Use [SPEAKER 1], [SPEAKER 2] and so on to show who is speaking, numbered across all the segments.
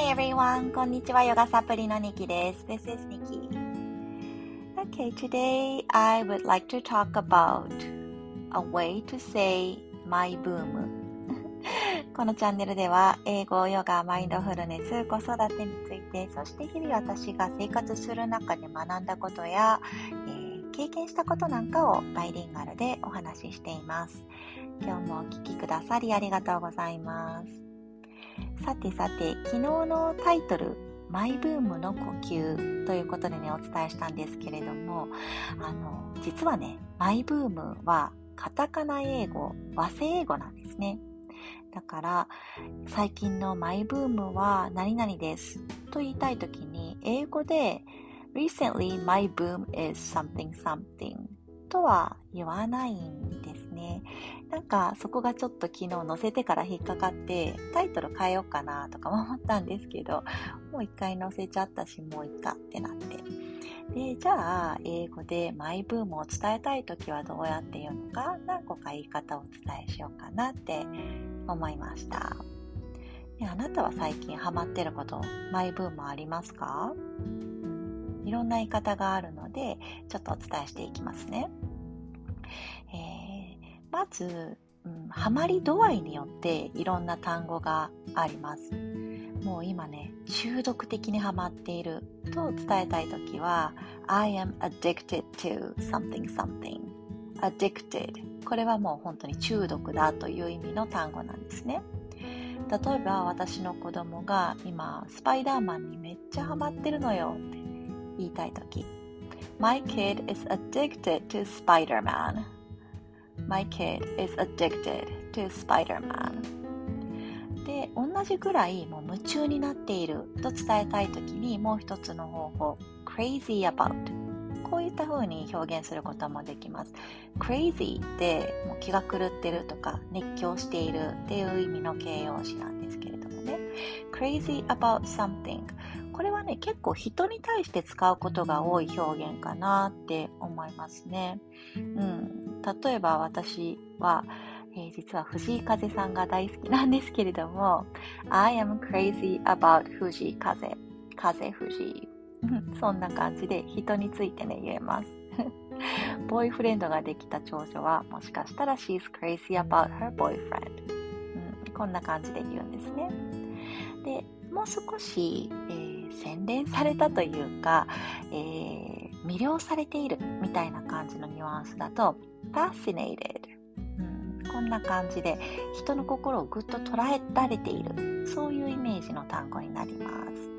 [SPEAKER 1] everyone! こんにちは、ヨガサプリのニキです。This is Nikki. Okay, today I would like to talk about a way to say my boom. このチャンネルでは、英語、ヨガ、マインドフルネス、子育てについて、そして日々私が生活する中で学んだことや、経験したことなんかをバイリンガルでお話ししています。今日もお聞きくださりありがとうございます。さて、昨日のタイトル、マイブームの呼吸ということでね、お伝えしたんですけれども、実はね、マイブームはカタカナ英語、和製英語なんですね。だから、最近のマイブームは何々ですと言いたいときに、英語で Recently my boom is something something とは言わないんですね。なんかそこがちょっと昨日載せてから引っかかってタイトル変えようかなとかも思ったんですけど、もう一回載せちゃったしもういいかってなって。で、じゃあ英語でマイブームを伝えたいときはどうやって言うのか、何個か言い方をお伝えしようかなって思いました。あなたは最近ハマってること、マイブームありますか？いろんな言い方があるので、ちょっとお伝えしていきますね。まず、ハマり度合いによっていろんな単語があります。もう今ね、中毒的にハマっていると伝えたいときは I am addicted to something something addicted これはもう本当に中毒だという意味の単語なんですね。例えば私の子供が今スパイダーマンにめっちゃハマってるのよって言いたいとき My kid is addicted to Spider-Man My kid is addicted to Spider-Man で、同じぐらいもう夢中になっていると伝えたいときにもう一つの方法 crazy about こういった風に表現することもできます。 crazy ってもう気が狂ってるとか熱狂しているっていう意味の形容詞なんですけれどもね crazy about something これはね結構人に対して使うことが多い表現かなって思いますね。例えば私は実は藤井風さんが大好きなんですけれども I am crazy about 藤井風藤井そんな感じで人についてね言えますボーイフレンドができた長女はもしかしたら She's crazy about her boyfriend、こんな感じで言うんですね。でもう少し、洗練されたというか、魅了されているみたいな感じのニュアンスだと fascinated、こんな感じで人の心をぐっと捉えられているそういうイメージの単語になります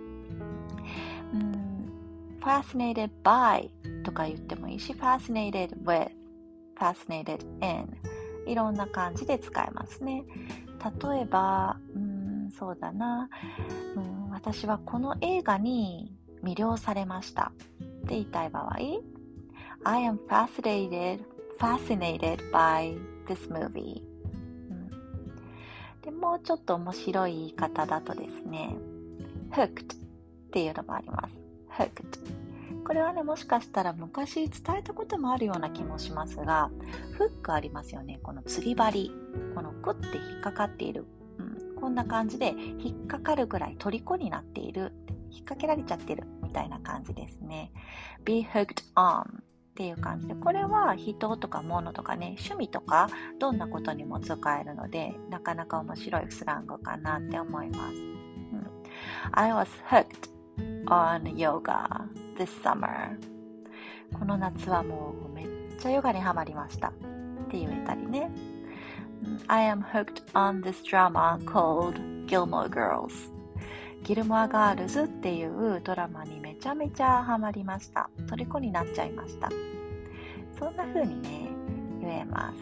[SPEAKER 1] 。fascinated by とか言ってもいいし fascinated with fascinated in いろんな感じで使えますね。例えばそうだな、私はこの映画に魅了されましたって言いたい場合 I am fascinated by this movie、でもうちょっと面白い言い方だとですね hooked っていうのもあります。 hooked これはねもしかしたら昔伝えたこともあるような気もしますがフックありますよね。この釣り針このグッて引っかかっている、こんな感じで引っかかるぐらい虜になっている引っ掛けられちゃってるみたいな感じですね。 be hooked onっていう感じでこれは人とか物とかね趣味とかどんなことにも使えるのでなかなか面白いスラングかなって思います、I was hooked on yoga this summer この夏はもうめっちゃヨガにハマりましたって言えたりね、I am hooked on this drama called Gilmore Girls ギルモアガールズっていうドラマにめちゃめちゃハマりました。虜になっちゃいました。そんな風にね言えます。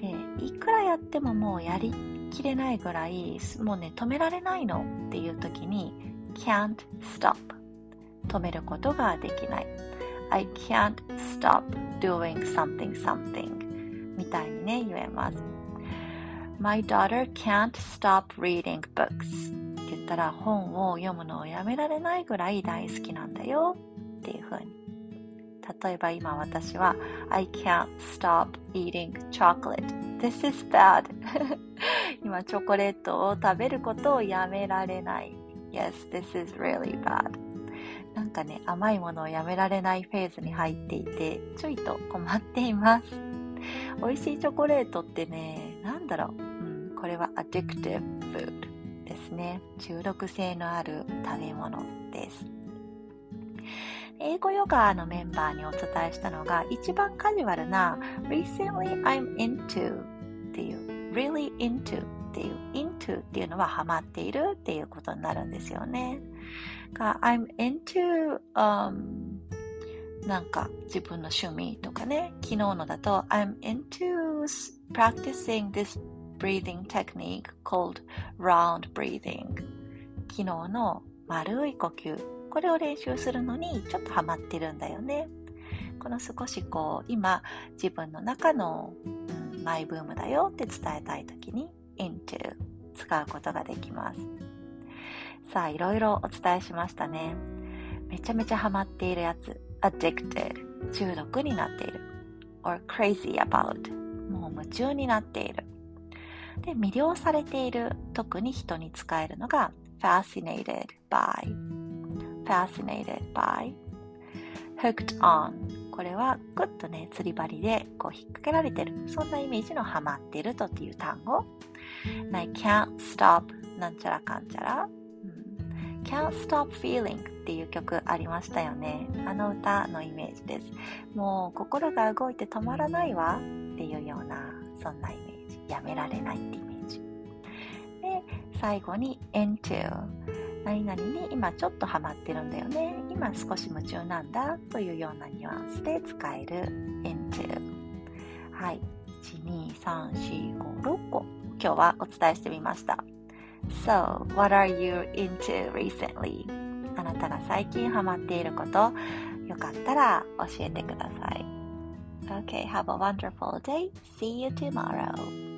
[SPEAKER 1] で、いくらやってももうやりきれないぐらいもうね止められないのっていう時に can't stop 止めることができない。I can't stop doing something something みたいにね言えます。My daughter can't stop reading booksって言ったら本を読むのをやめられないぐらい大好きなんだよっていう風に。例えば今私は I can't stop eating chocolate This is bad 今チョコレートを食べることをやめられないみ Yes, this is really bad. なんかね、甘いものをやめられないフェーズに入っていて、ちょいと困っています。美味しいチョコレートってね、なんだろう、これは addictive food ですね。中毒性のある食べ物です。英語ヨガのメンバーにお伝えしたのが、一番カジュアルな Recently I'm into っていう Really into っていう into っていうのはハマっているっていうことになるんですよね。I'm into、なんか自分の趣味とかね、昨日のだと I'm into practicing this breathing technique called round breathing。 昨日の丸い呼吸、これを練習するのにちょっとハマってるんだよね。この少し今自分の中の、マイブームだよって伝えたいときに into 使うことができます。さあ、いろいろお伝えしましたね。めちゃめちゃハマっているやつ、addicted 中毒になっている or crazy about もう夢中になっている。で、魅了されている、特に人に使えるのが fascinated by hooked on。 これはグッとね、釣り針で引っ掛けられてる、そんなイメージのハマっているとっていう単語。I can't stop なんちゃらかんちゃら、Can't Stop Feeling っていう曲ありましたよね。あの歌のイメージです。もう心が動いて止まらないわっていうような、そんなイメージ。やめられないってイメージ。で、最後に into。何々に今ちょっとハマってるんだよね。今少し夢中なんだというようなニュアンスで使える into。はい。1、2、3、4、5、6個。今日はお伝えしてみました。So, what are you into recently? あなたが最近ハマっていること、よかったら教えてください。Okay, have a wonderful day. See you tomorrow.